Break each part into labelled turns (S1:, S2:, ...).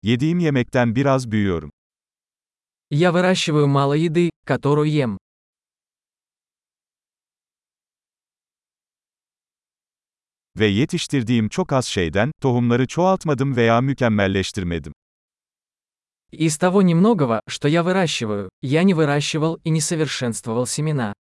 S1: Yediğim yemekten biraz büyüyorum.
S2: Я выращиваю мало еды, которую ем.
S1: Ve yetiştirdiğim çok az şeyden, tohumları çoğaltmadım veya mükemmelleştirmedim.
S2: Из того немногого, что я выращиваю, я не выращивал и не совершенствовал семена.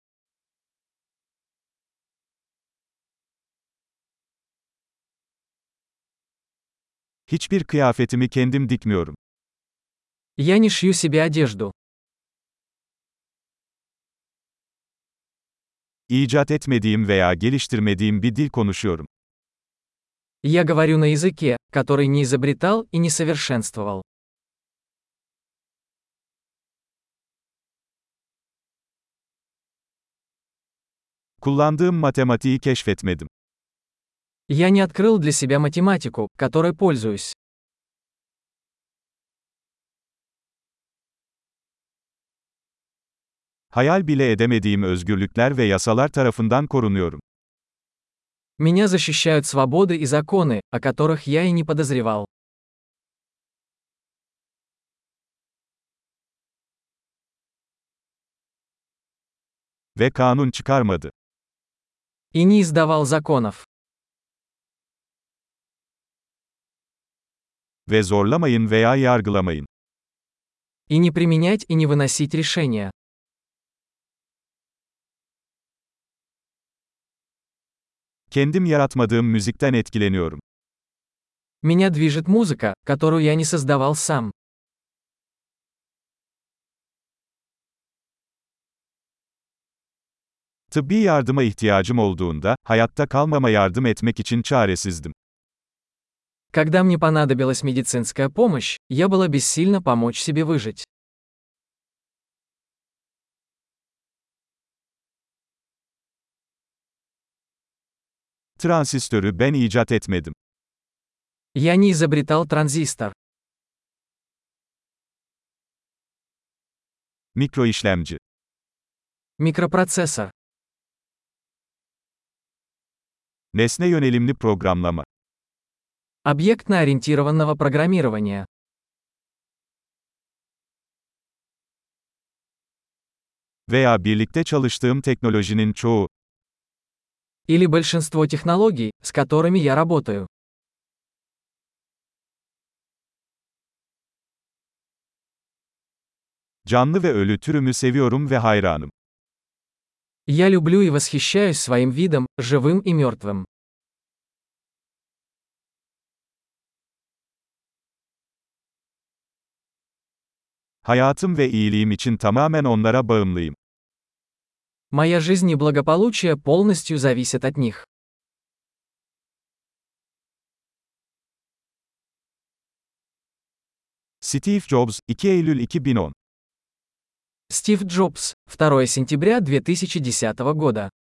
S1: Hiçbir kıyafetimi kendim dikmiyorum.
S2: Я не шью себе одежду.
S1: İcat etmediğim veya geliştirmediğim bir dil konuşuyorum.
S2: Я говорю на языке, который не изобретал и не совершенствовал.
S1: Kullandığım matematiği keşfetmedim.
S2: Я не открыл для себя математику, которой пользуюсь.
S1: Hayal bile edemediğim özgürlükler ve yasalar tarafından korunuyorum.
S2: Меня защищают свободы и законы, о которых я и не подозревал.
S1: Ve kanun çıkarmadı.
S2: И не издавал законов.
S1: Ve zorlamayın veya yargılamayın.
S2: И не применять и не выносить решения.
S1: Kendim yaratmadığım müzikten etkileniyorum.
S2: Меня движет музыка, которую я не создавал сам.
S1: Tıbbi yardıma ihtiyacım olduğunda, hayatta kalmama yardım etmek için çaresizdim.
S2: Когда мне понадобилась медицинская помощь, я была бессильна помочь себе выжить.
S1: Transistörü ben icat etmedim.
S2: Я не изобретал транзистор.
S1: Mikroişlemci.
S2: Микропроцессор.
S1: Nesne yönelimli programlama.
S2: Объектно-ориентированного программирования.
S1: Veya birlikte çalıştığım teknolojinin çoğu.
S2: Или большинство технологий, с которыми я работаю.
S1: Canlı ve ölü türümü seviyorum ve hayranım.
S2: Я люблю и восхищаюсь своим видом, живым и мертвым.
S1: Hayatım ve iyiliğim için tamamen onlara bağımlıyım.
S2: Моя жизнь и благополучие полностью зависят от них.
S1: Steve Jobs, 2 Eylül 2010.
S2: Стив Джобс, 2 сентября 2010 года.